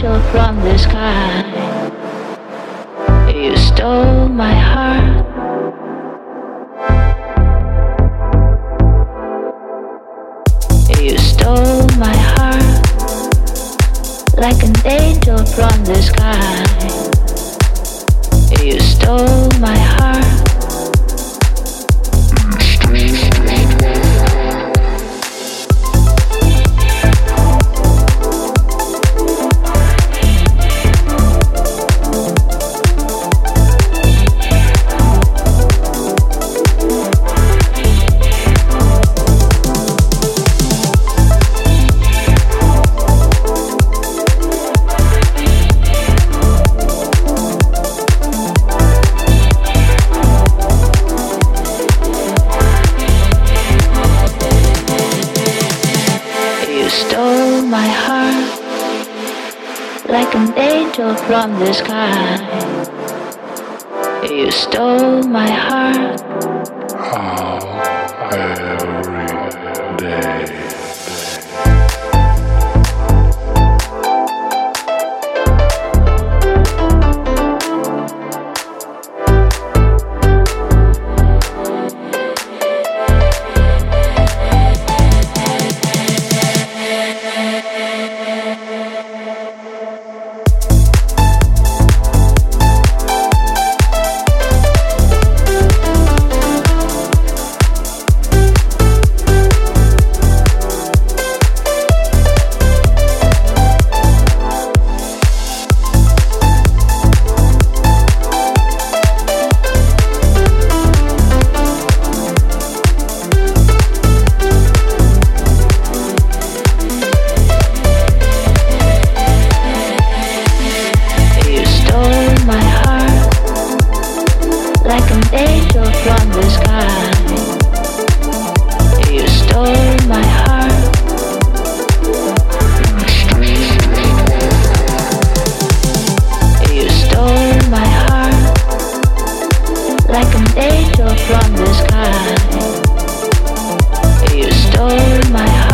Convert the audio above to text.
angel from the sky. You stole my heart. You stole my heart like an angel from the sky. You stole my heart. Stole my heart like an angel from the sky. You stole my heart. How every day. Like an angel from the sky. You stole my heart. You stole my heart like an angel from the sky. You stole my heart.